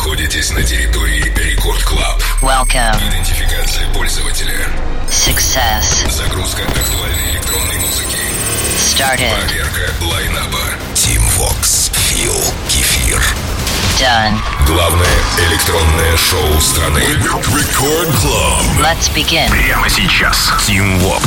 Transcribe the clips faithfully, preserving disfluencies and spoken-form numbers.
находитесь на территории Рекорд Клаб. Welcome. Идентификация пользователя. Success. Загрузка актуальной электронной музыки. Started. Проверка лайнаба. Team Vox. Фил Кефир. Done. Главное электронное шоу страны. Рекорд Клаб. Let's begin. Прямо сейчас. Team Vox.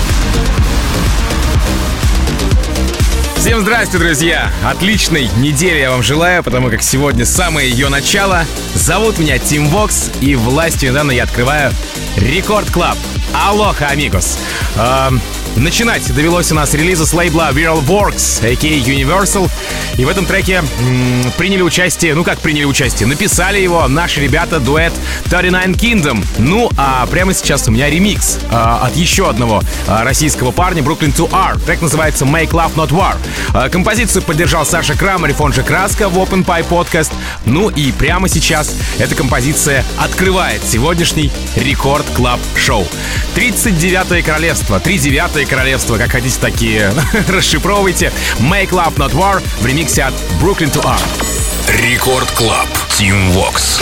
Всем здрасте, друзья! Отличной недели я вам желаю, потому как сегодня самое ее начало. Зовут меня Team Vox, и властью недавно я открываю Рекорд Клаб. Алоха, амигос! Эм, начинать довелось у нас релиза с лейбла Viral Works, а.к.а. Universal. И в этом треке м, приняли участие, ну как приняли участие, написали его наши ребята, дуэт тридцать девять Kingdom. Ну, а прямо сейчас у меня ремикс э, от еще одного э, российского парня, Brooklyn two R. Трек называется Make Love Not War. Э, композицию поддержал Саша Крамарев, он же Краска, в Open Pie Podcast. Ну и прямо сейчас эта композиция открывает сегодняшний Рекорд Клаб Шоу. тридцать девятое королевство, тридцать девятое королевство, как хотите, такие расшифровывайте. Make Love Not War в ремиксе от Brooklyn two R. Рекорд Клаб. Team Vox.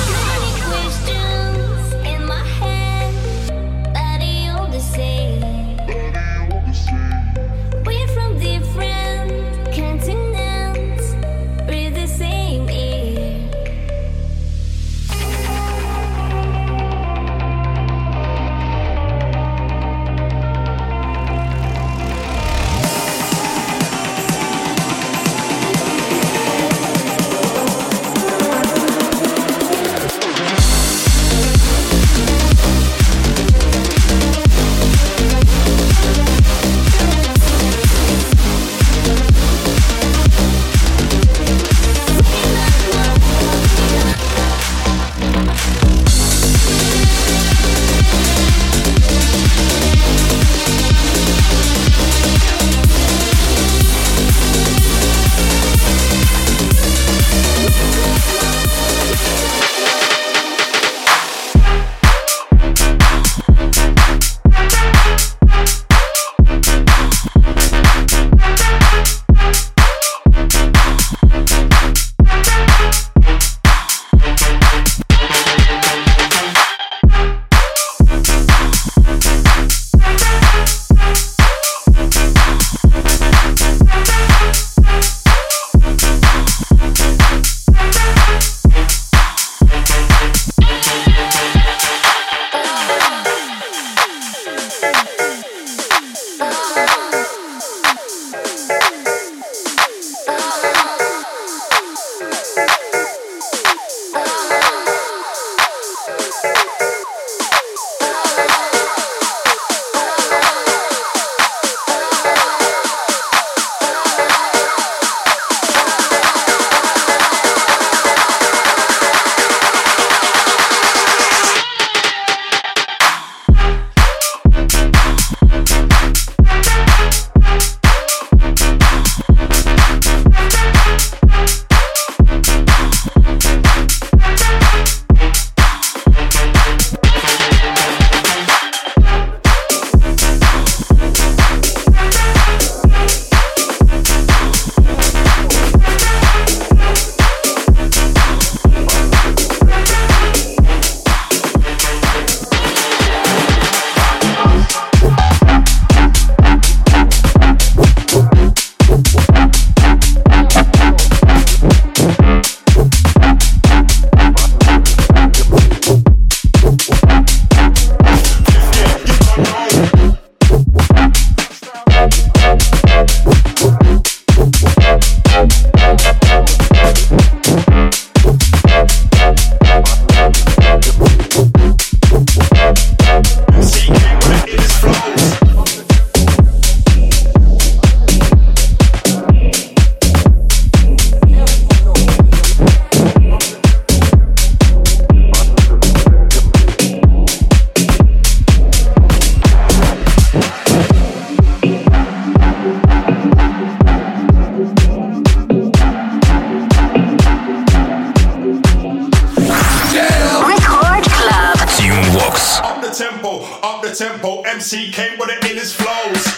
tempo, M C came with it in his flows.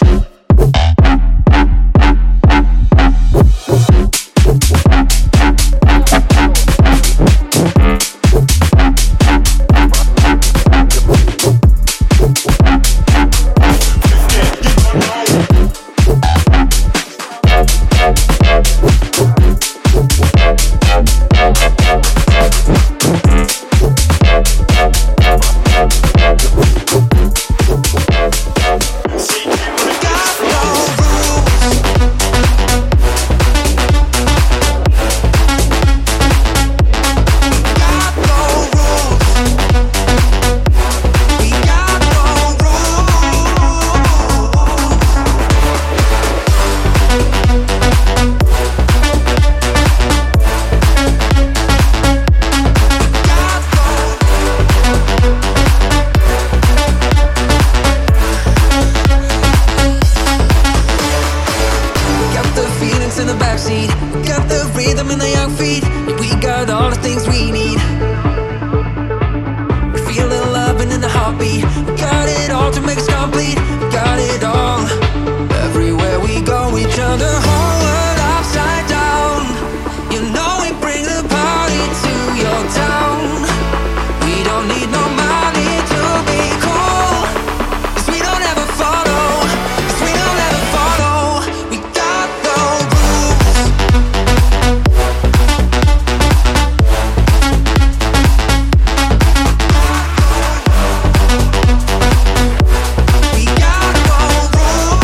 all the things we need. We feel the love and in the heartbeat. We got it all to make us complete. We got it all. Everywhere we go, we turn the whole world upside down. You know we bring the party to your town. We don't need no money to be cool, 'cause we don't ever follow, 'cause we don't ever follow. We got the rules. We got the rules.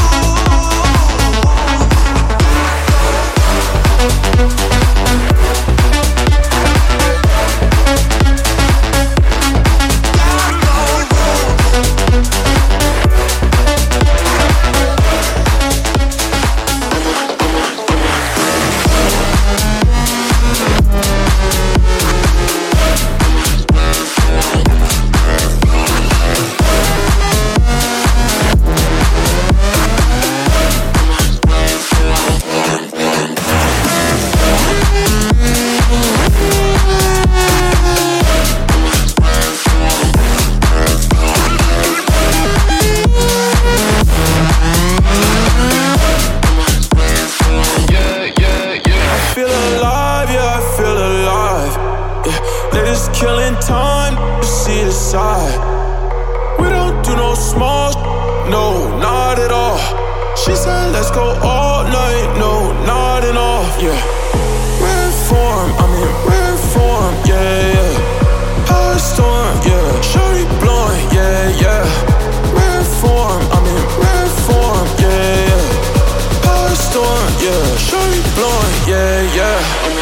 Feel alive, yeah, I feel alive. Yeah, they just killing time to see the side. We don't do no small, no, not at all. She said, let's go all night, no, nodding off, yeah. Rare form, I'm in rare form, yeah, yeah. High storm, yeah, shorty blowing, yeah, yeah. Rare form, I'm in rare form, yeah, yeah. High storm, yeah, shorty blowing, yeah, yeah.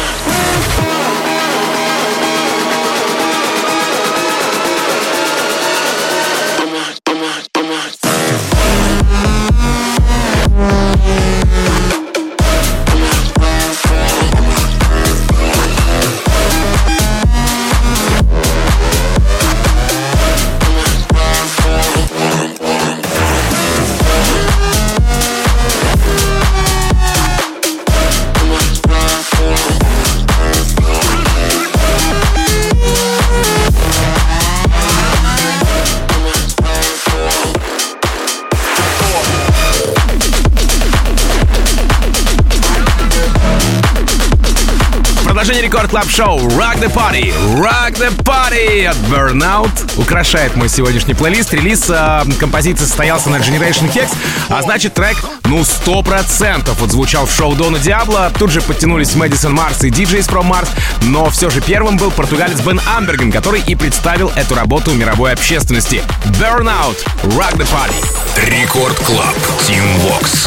Продолжение Рекорд Клаб Шоу Rock the Party, Rock the Party от Burnout украшает мой сегодняшний плейлист. Релиз э, композиции состоялся на Generation Hex, а значит трек, ну, сто процентов вот звучал в шоу Дона Диабло. Тут же подтянулись Мэдисон Марс и ди джей from Mars, но все же первым был португалец Бен Амберген, который и представил эту работу мировой общественности. Burnout, Rock the Party. Рекорд Клаб, Team Vox.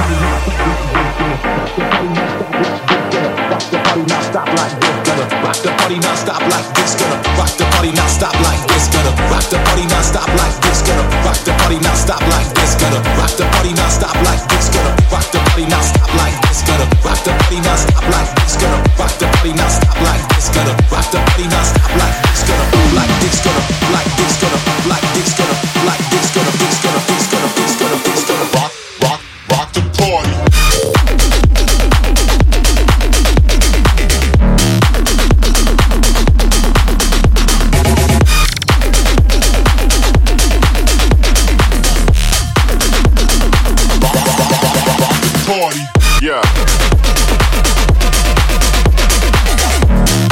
Rock the party now, stop like this. Gonna rock the party now, stop like this. Gonna rock the party now, stop like this. Gonna rock the party now, stop like this. Gonna rock the party now, stop like this. Gonna rock the party now, stop like this. Gonna rock the party now, stop like this. Gonna rock the party now, stop like this. Gonna rock the party now, stop like this. Gonna like this. Gonna like this. Gonna like this. Gonna like this. Gonna this. Gonna this. Gonna this. Gonna this. Gonna rock, rock, rock the party. Party, yeah.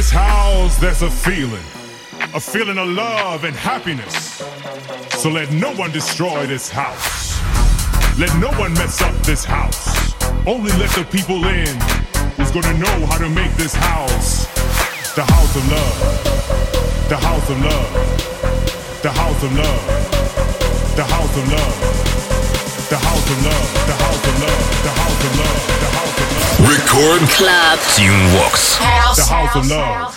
this house, there's a feeling, a feeling of love and happiness. So let no one destroy this house. Let no one mess up this house. Only let the people in who's gonna know how to make this house the house of love. The house of love. The house of love. The house of love. The house of love. The house of love. The house of love. The house of love. Record Club Teamworks. The house of love.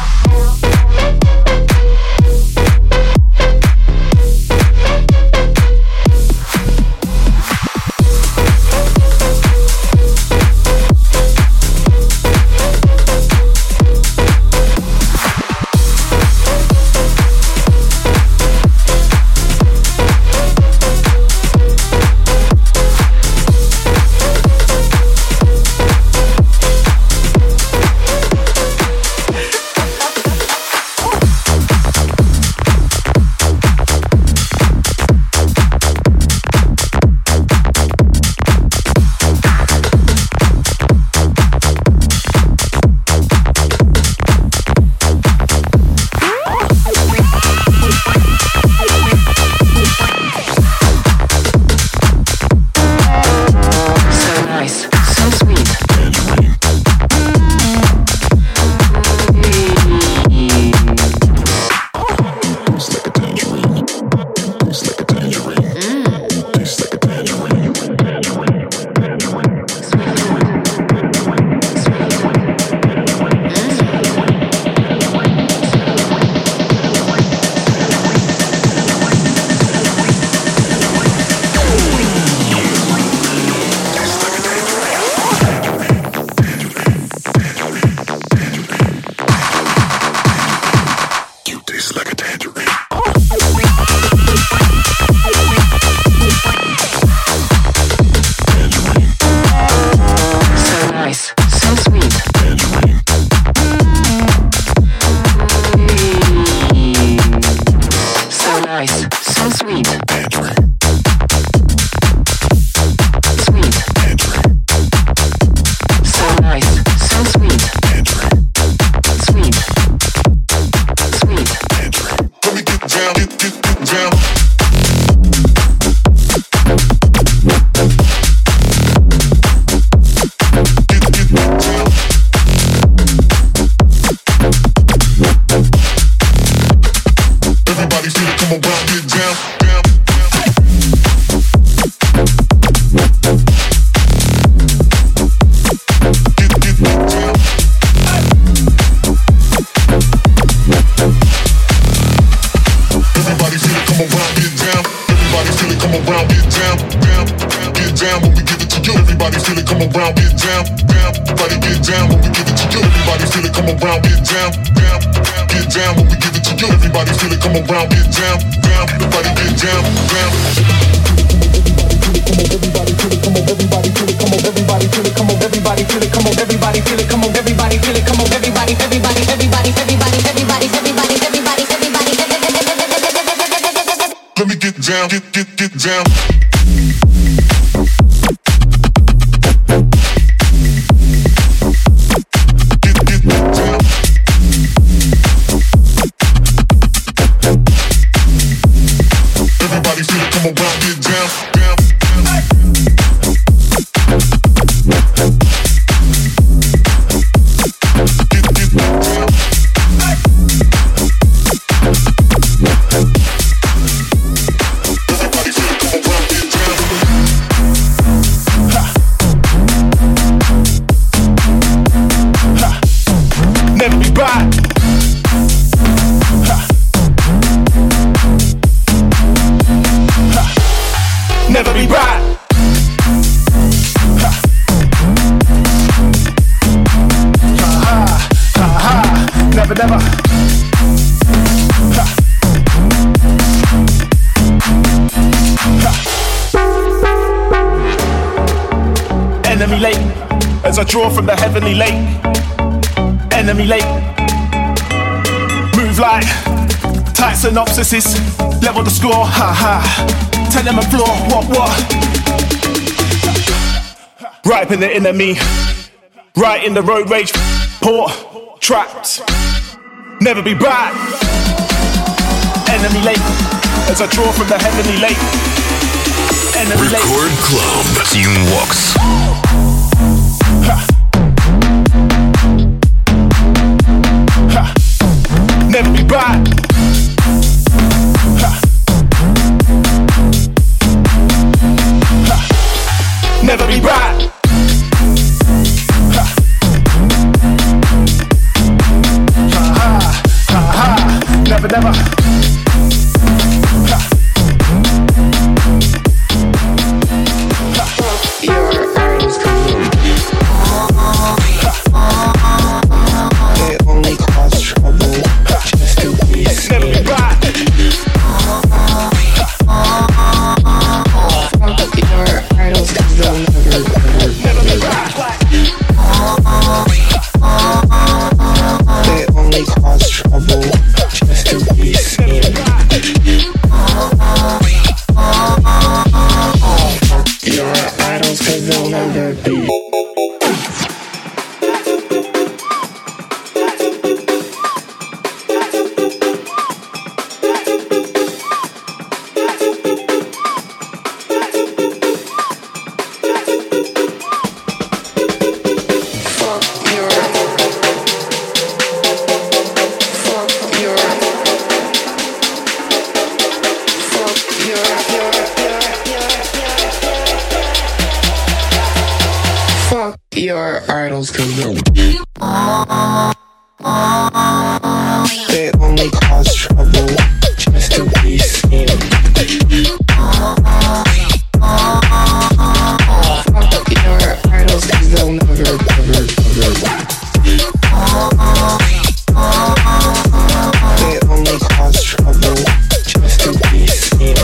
Enemy late, as I draw from the heavenly lake. Enemy late, move like tight synopsises. Level the score, ha ha. Tell them a floor, what what. Right in the enemy, right in the road rage. Port, trapped, never be back. Enemy late, as I draw from the heavenly lake. Enemy late. Record Club. Team Vox. Ha. Ha. Never be back. Ha. Ha. Never be back. Ha. Ha ha ha. Never, never. Ha. Your arms come they only cause trouble just to be seen. Never be back. Fuck your idols, cause they'll never, never, Never be back. they only cause trouble just to be seen. Fuck your idols, cause they'll never be. Your idols can know they only cause trouble just to be seen. Fuck your idols, cause they'll never, never, never. They only cause trouble just to be seen.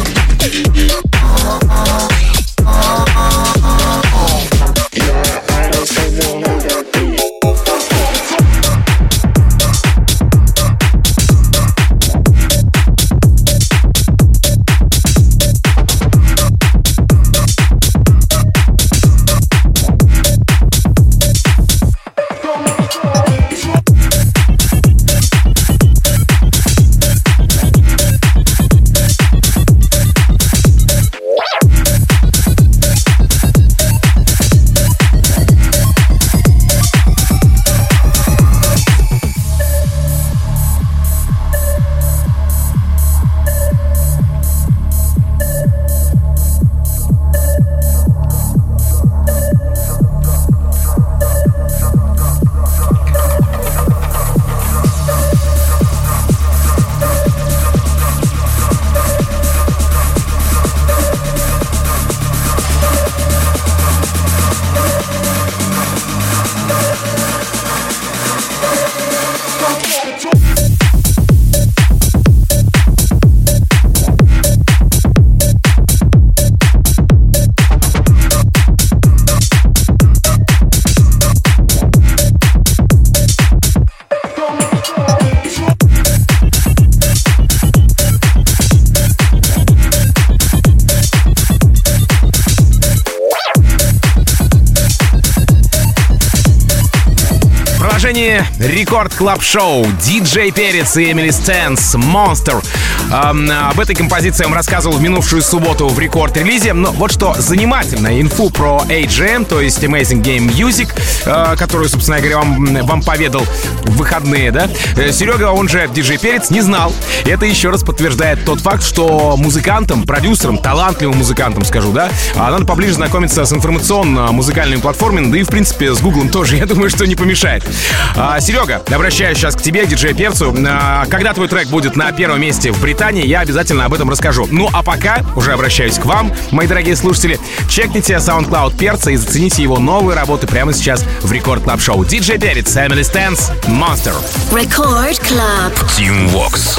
Рекорд Клаб Шоу, Диджей Перец и Эмили Стэнс, Monster. Эм, об этой композиции я вам рассказывал в минувшую субботу в рекорд-релизе. Но вот что занимательно, инфу про эй джи эм, то есть Amazing Game Music, э, которую, собственно говоря, вам, вам поведал в выходные, да? Серега, он же Диджей Перец, не знал. И это еще раз подтверждает тот факт, что музыкантам, продюсерам, талантливым музыкантам, скажу, да, надо поближе знакомиться с информационно-музыкальными платформами, да и, в принципе, с Гуглом тоже, я думаю, что не помешает. А, Серега, обращаюсь сейчас к тебе, к диджею Перцу. А, когда твой трек будет на первом месте в Британии, я обязательно об этом расскажу. Ну, а пока уже обращаюсь к вам, мои дорогие слушатели. Чекните SoundCloud Перца и зацените его новые работы прямо сейчас в Рекорд Клаб Шоу. Диджей Перец, Эмили Стэнс, Monster. Рекорд Клаб. Team Vox.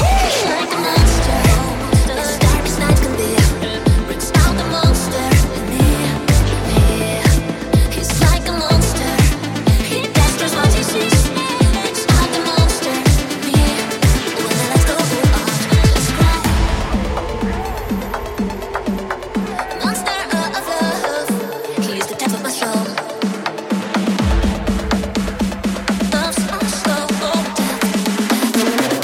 Monster of love, he's the type of my soul.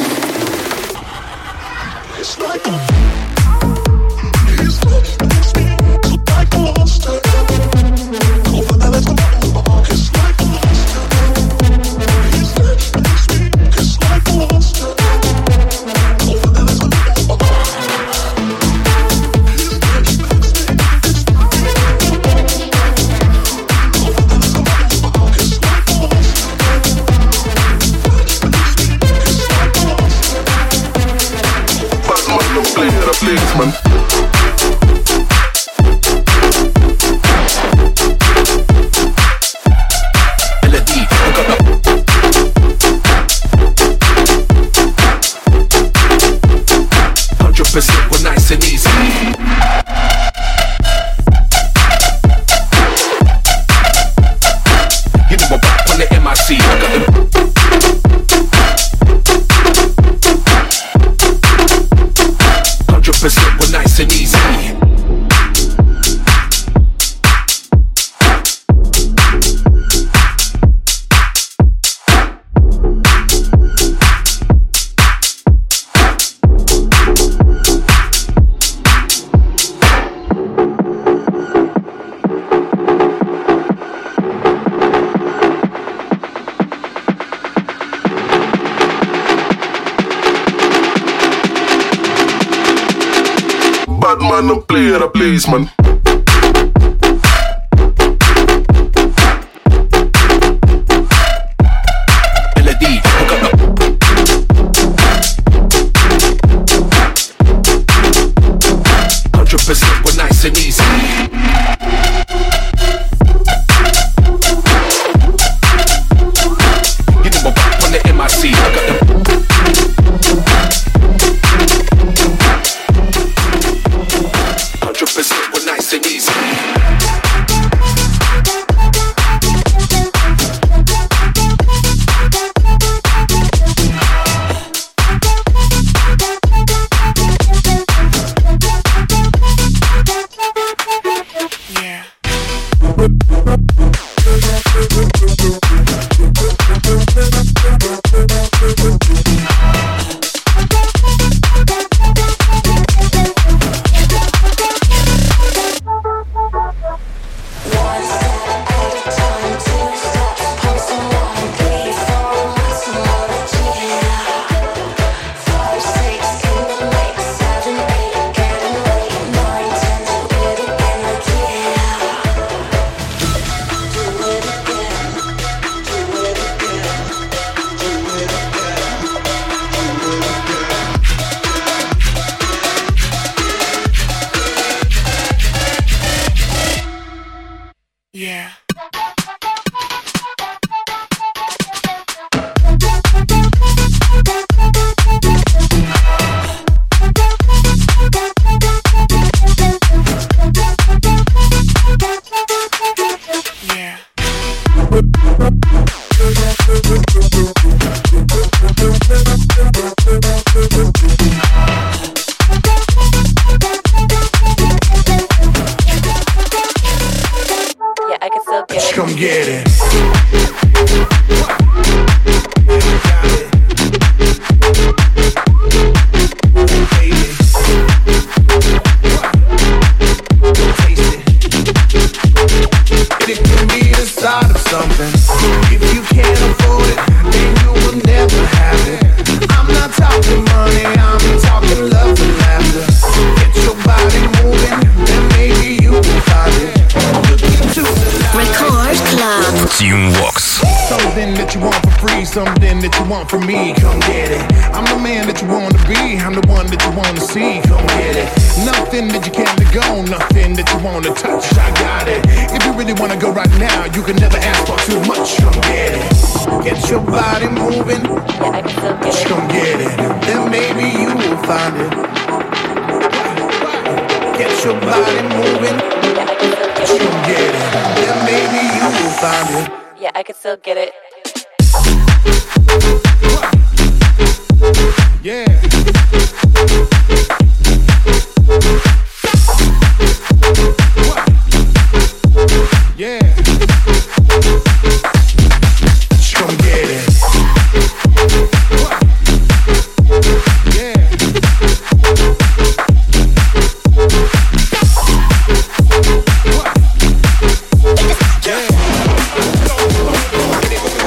C. I got them. Hundred percent, we're nice and easy. Man, I'm playing a place, man. Melody, hundred percent, we're nice and easy. You know my back on the M I C. I got them. We're nice and easy. Yeah. Yeah. Come get it. It can be the start of something. If you can't afford it, then you will never have it. I'm not talking money, I'm talking love and laughter. Get your body moving, then maybe you will find it. Look into the Record Club. Team Vox. Something that you want for free, something that you want from me, come get it. I'm the man that you want to be, I'm the one that you want to see, come get it. Nothing that you can't let go, nothing that you want to touch, I got it. If you really want to go right now, you can never ask for too much, come get it. Get your body moving, yeah, I can still get it. Come get it, then maybe you will find it. Get your body moving, yeah, I can still get it. Come get it, then maybe you will find it. Yeah, I can still get it. Yeah. Yeah. Come get it. Yeah. Yeah.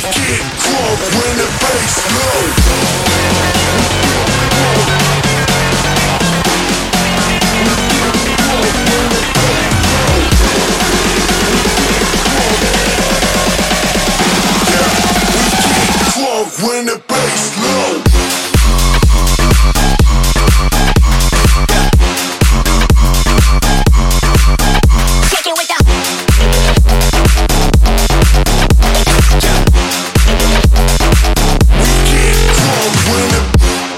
get crunk when the bass low. When the bass low. Kick it with the. We get drunk when the.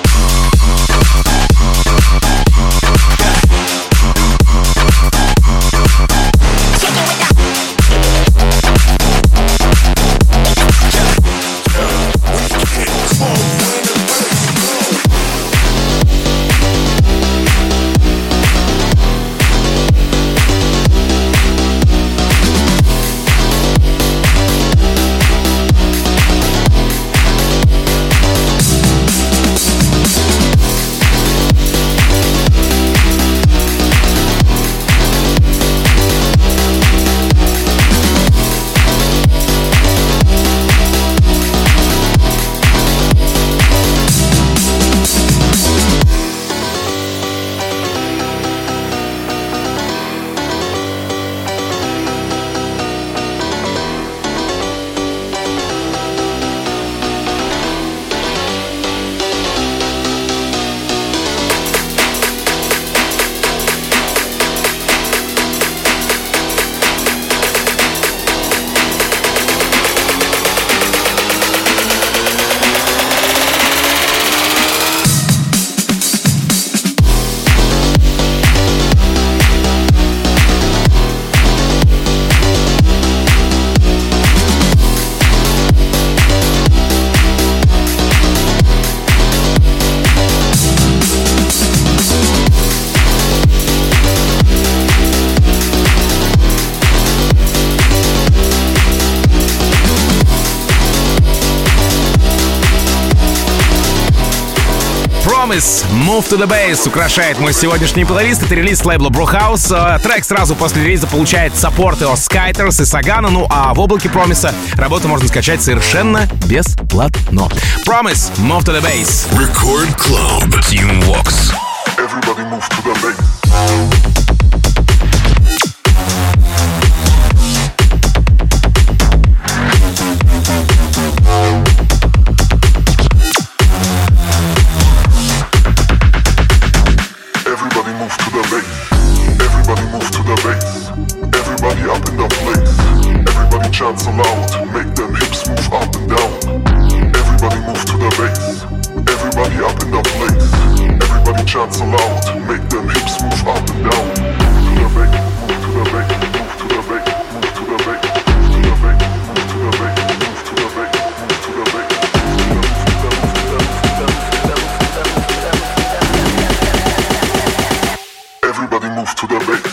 Move to the Bass украшает мой сегодняшний плейлист. Это релиз лейбла Brewhouse. Трек сразу после релиза получает саппорты от Skyters и Сагана. Ну а в облаке Промиса работу можно скачать совершенно бесплатно. Promise, Move to the Bass. Record Club. Team Vox. Everybody move to the bass. So loud, make them hips move up and down. Everybody move to the bass. Everybody up in the place. Everybody chant so loud, make them hips move up and down. Move to the bass, move to the bass, move to the bass, move to the bass, move to the bass, move to the bass, move to the bass, move to the bass. Everybody move to the bass.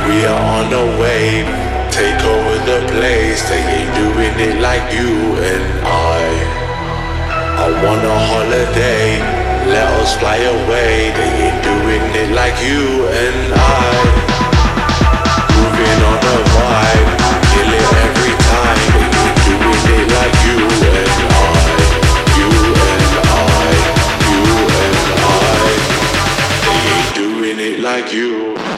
We are on the wave, take over the place. They ain't doing it like you and I. I want a holiday, let us fly away. They ain't doing it like you and I. Moving on the vibe, kill it every time. They ain't doing it like you and I. You and I, you and I. They ain't doing it like you.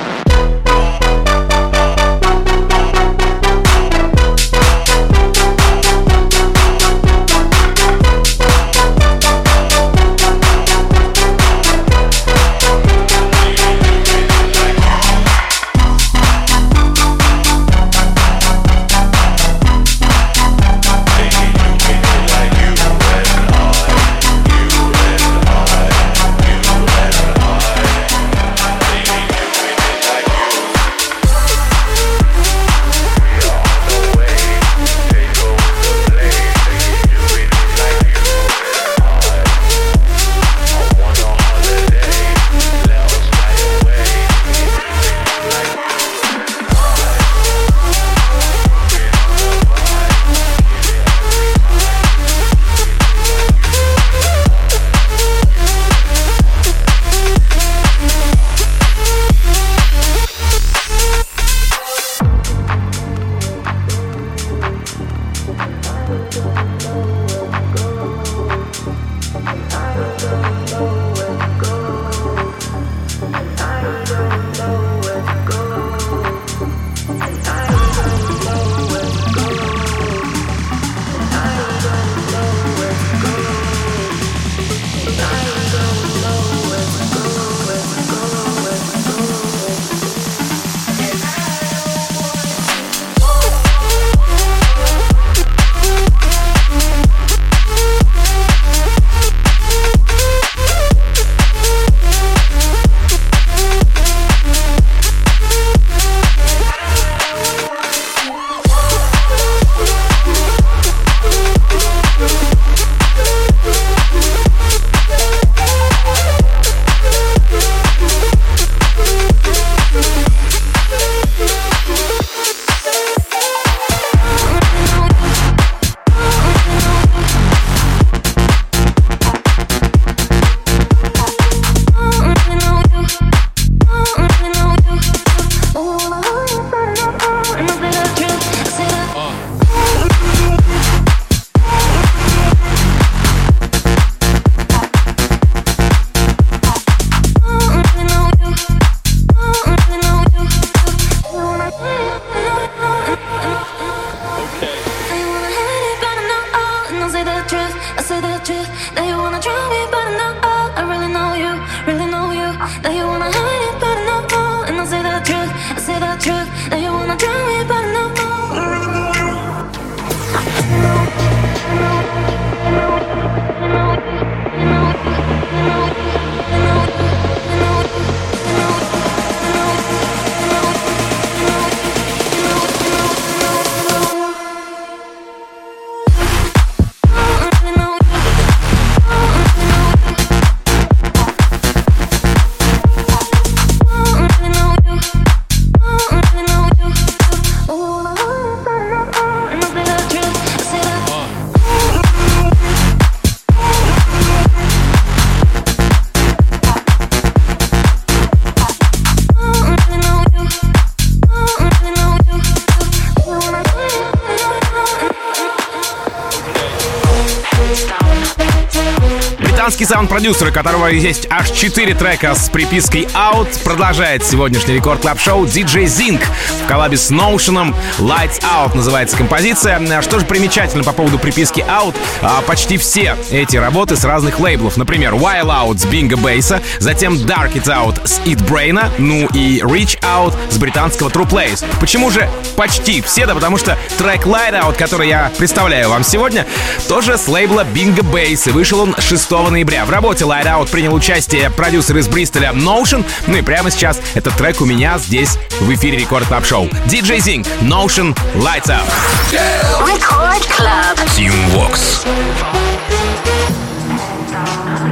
Британский саунд-продюсер, у которого есть аж четыре трека с припиской «Out», продолжает сегодняшний Рекорд Клаб Шоу ди джей Zing в коллабе с Notion. «Lights Out» называется композиция. Что же примечательно по поводу приписки «Out»? Почти все эти работы с разных лейблов. Например, «While Out» с Bingo Bass, затем «Dark It Out» с Eat Brain, ну и «Reach Out» с британского True Place. Почему же почти все? Да потому что трек «Light Out», который я представляю вам сегодня, тоже с лейбла Bingo Bass, и вышел он шестого ноября. В работе Light Out принял участие продюсер из Бристоля Notion. Ну и прямо сейчас этот трек у меня здесь в эфире Рекорд Клаб Шоу. ди джей Zing, Notion, Lights Out. Рекорд Клаб. Team Vox.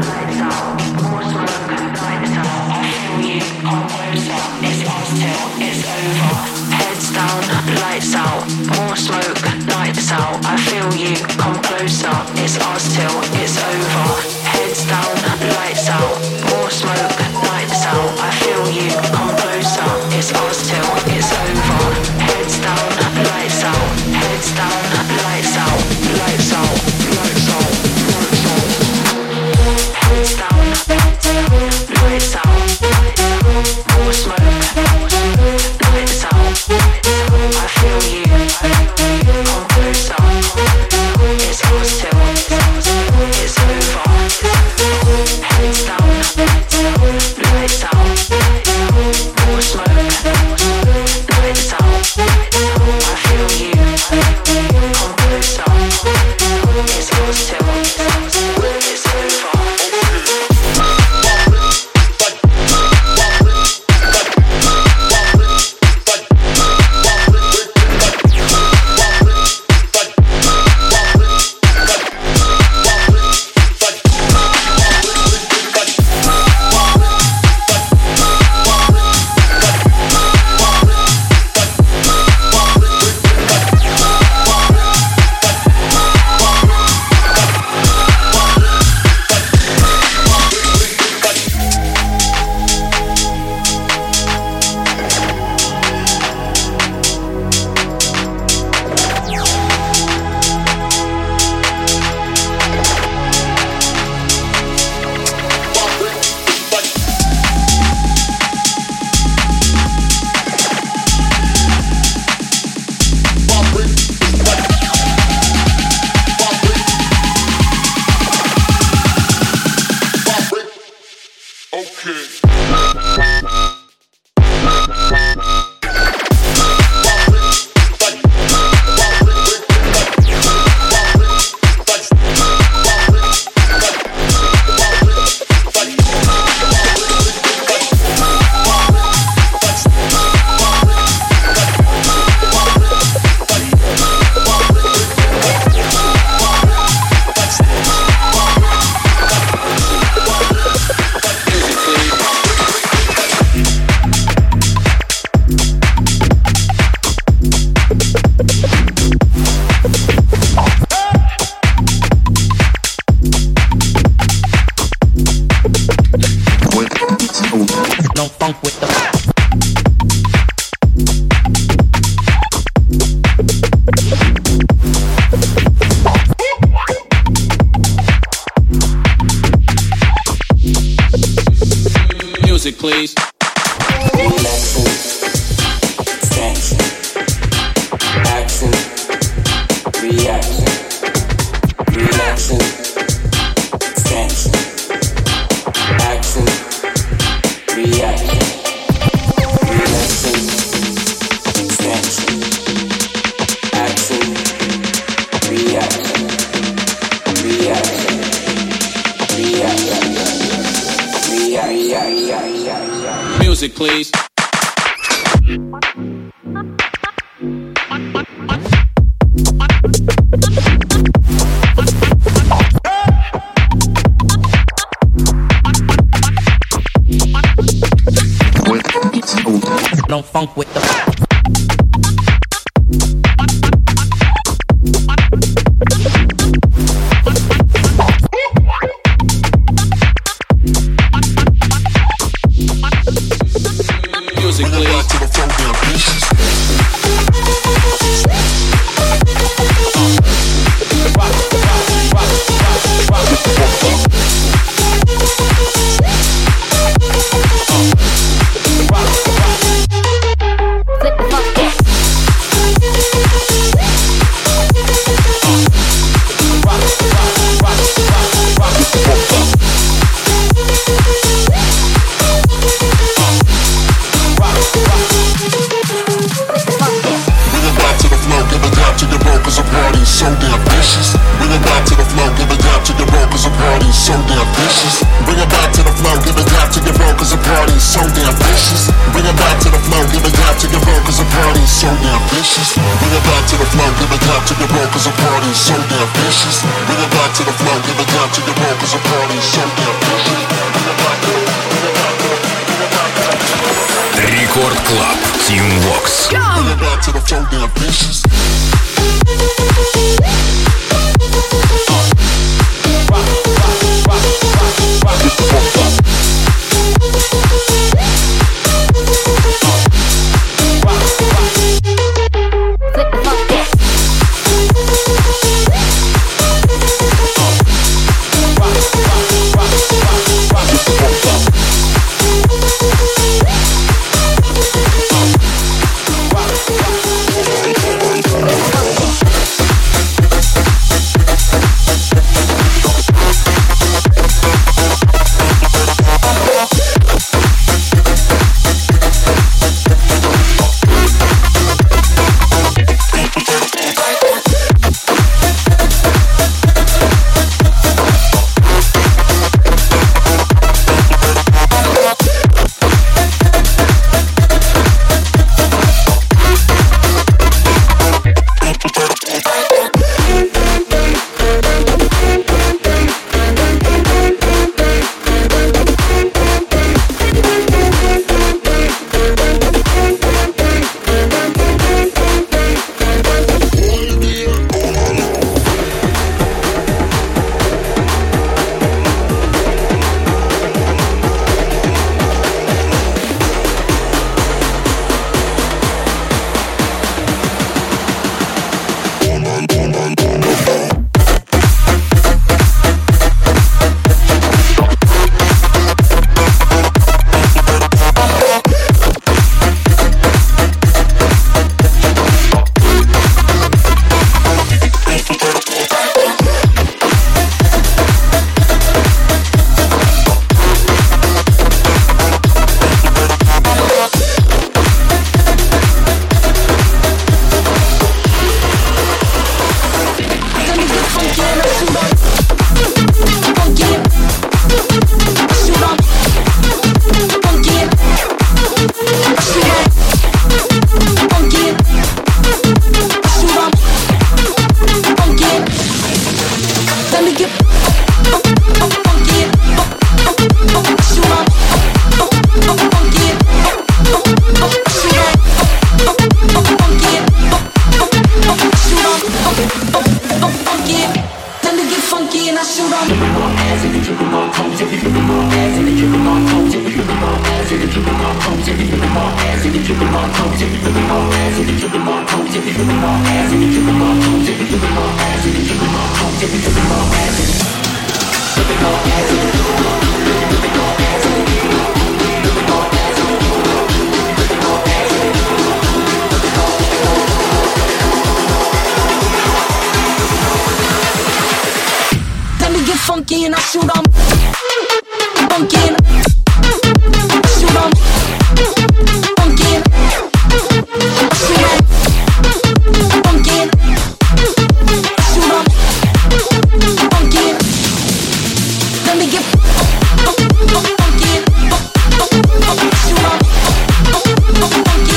It's it's over. Heads down, lights out, more smoke, nights out. I feel you, come closer. It's us till it's over. Heads down, lights out, more smoke, nights out. I feel you, come closer. It's us till it's over. Heads down, lights out, heads down, lights out, lights out, lights out, lights out. Heads down, lights out, more smoke, lights out. I feel you, come closer. It's us till it's over. Heads down, lights out, more smoke, lights out. I feel you, come closer. It's us till it's over. Music, please. Relaxing, dancing, action, reaction. Relaxing, dancing, action, reaction. Relaxing, dancing, action, reaction, reaction, reaction. Music, please. No funk with the music, please. to the funk down, bitches. Rock, rock, rock, rock, rock with the funk. So damn vicious. Bring it back to the flow, give it down to your roll, cause the party's so damn vicious. Bring it back to the flow, give it down to your roll, cause the party's so damn vicious. Bring it back to the flow, give it down to your roll, cause the party's so damn vicious. Bring it back to the flow, give it down to your roll, cause the party's so damn vicious. Bring it back to the flow, give it down to your roll, cause the party's so damn vicious. Bring it back to the, bring it back to the, bring it back to the. Рекорд Клаб. Team Vox. Funky and I shoot 'em. Funky and shoot 'em. Funky and shoot 'em. Funky and shoot 'em. Funky and let me get funky and shoot 'em. Funky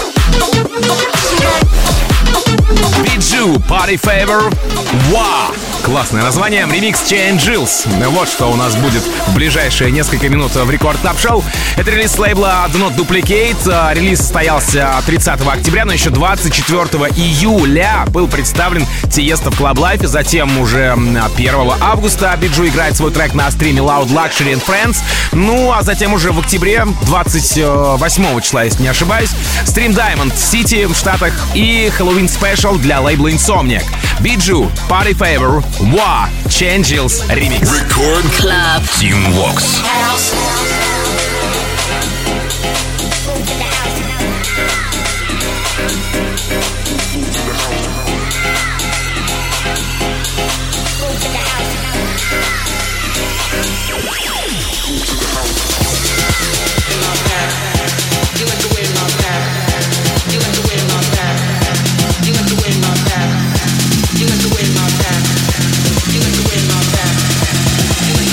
and Биджу, Party Favor, Wow! Классное название. Ремикс Changes. Вот что у нас будет в ближайшие несколько минут в Рекорд Клаб Шоу. Это релиз с лейбла Do Not Duplicate. Релиз состоялся тридцатого октября, но еще двадцать четвёртого июля был представлен Тиесто в Club Life. Затем уже первого августа Биджу играет свой трек на стриме Loud Luxury and Friends. Ну, а затем уже в октябре, двадцать восьмого числа, если не ошибаюсь, стрим Diamond City в Штатах и Halloween Special для лейбла Insomniac. Биджу, Party Favor, Wow, Changes, ремикс. Record Club Team Vox.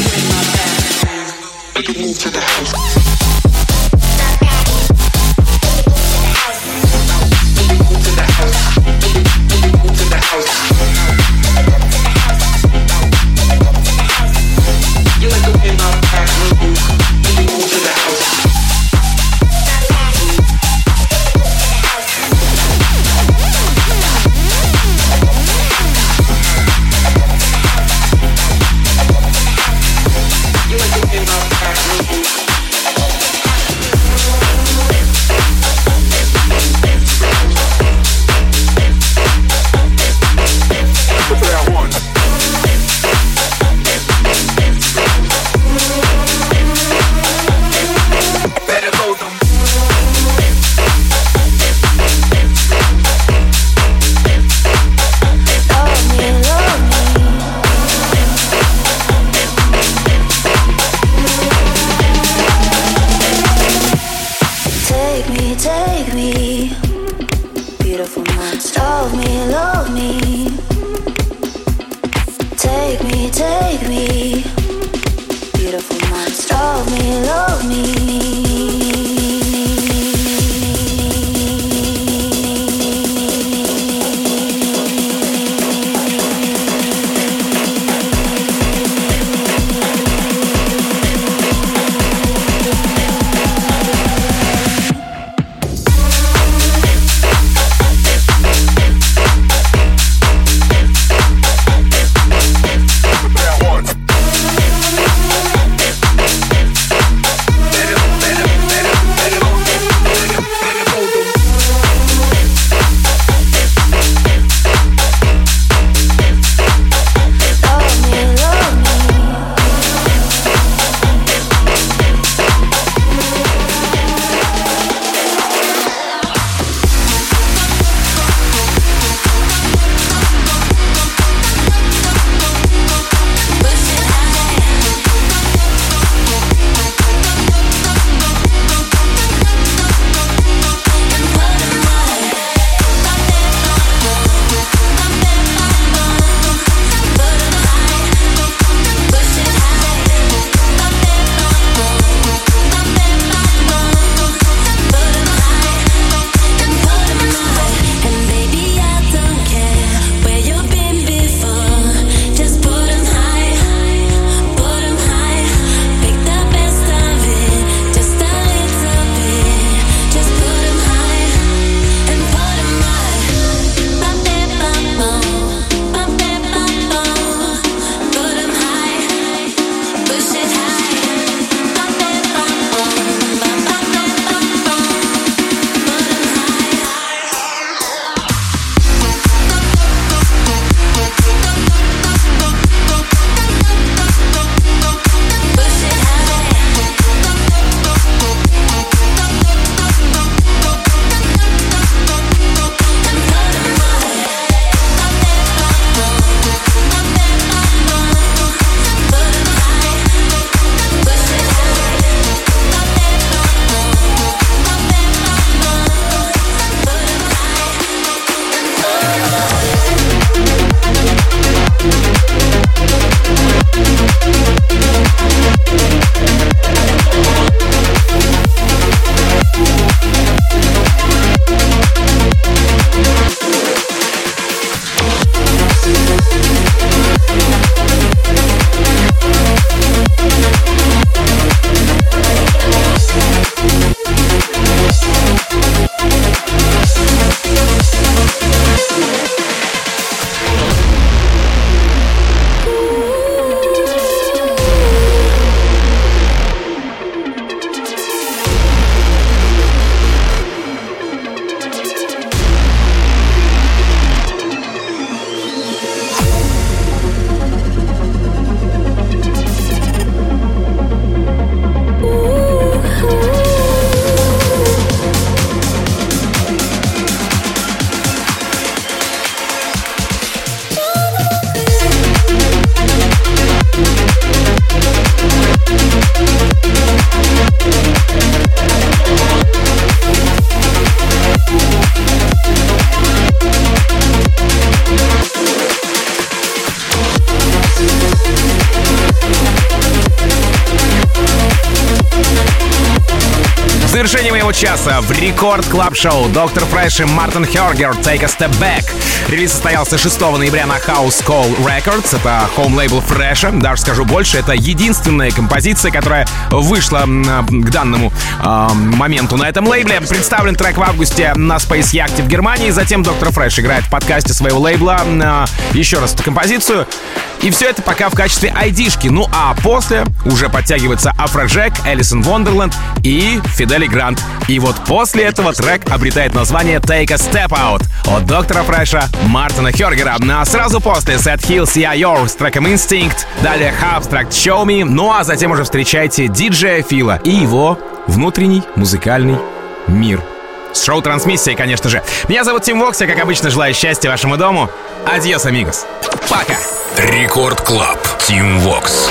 Move to the house. monster of me, love me. Take me, take me. Beautiful monster of me, love me. В завершении моего часа в Рекорд Клаб Шоу доктор Фреш и Мартин Хёргер «Take a Step Back». Релиз состоялся шестого ноября на House Call Records. Это хоум-лейбл Фреша. Даже скажу больше, это единственная композиция, которая вышла к данному э, моменту на этом лейбле. Представлен трек в августе на Space Yacht в Германии. Затем доктор Фреш играет в подкасте своего лейбла э, еще раз эту композицию. И все это пока в качестве айдишки. Ну а после уже подтягивается Афроджек, Элисон Вондерленд и Фидели Грант. И вот после этого трек обретает название Take a Step Out от доктора Фреша, Мартина Хёргера. А сразу после Seth Hill си ай о с треком Instinct, далее Abstract Show Me, ну а затем уже встречайте диджея Фила и его внутренний музыкальный мир. С шоу-трансмиссией, конечно же. Меня зовут Тим Вокс, я, как обычно, желаю счастья вашему дому. Адьос, амигос. Пока. Рекорд Клаб. Тим Вокс.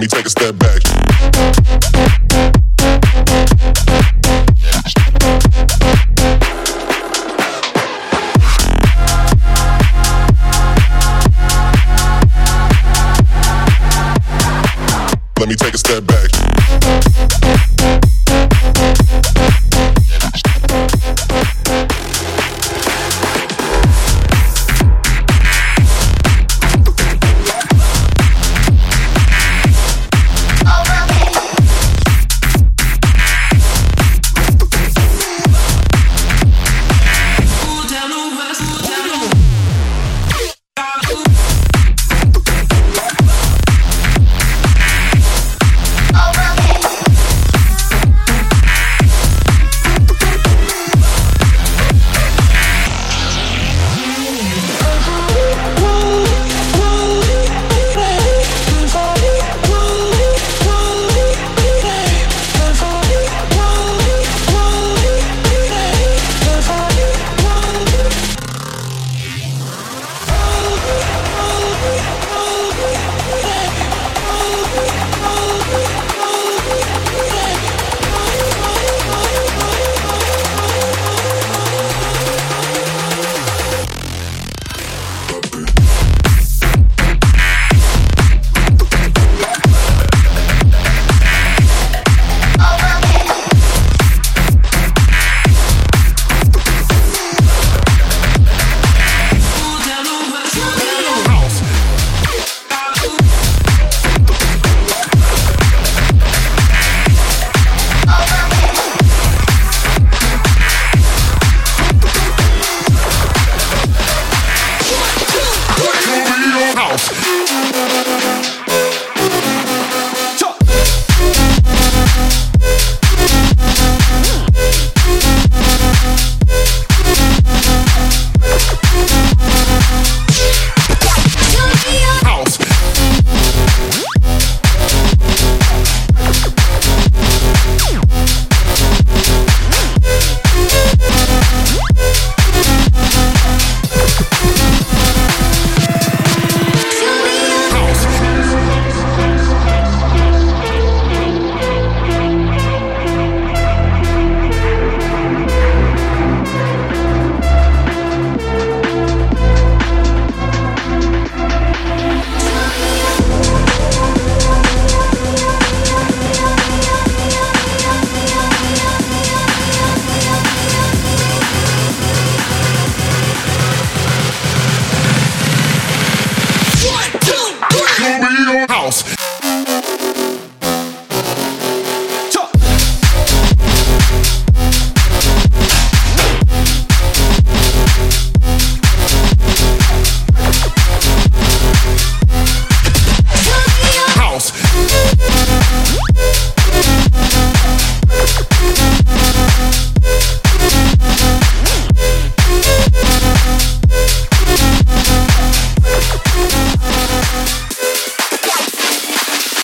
me take a step back. Let me take a step back.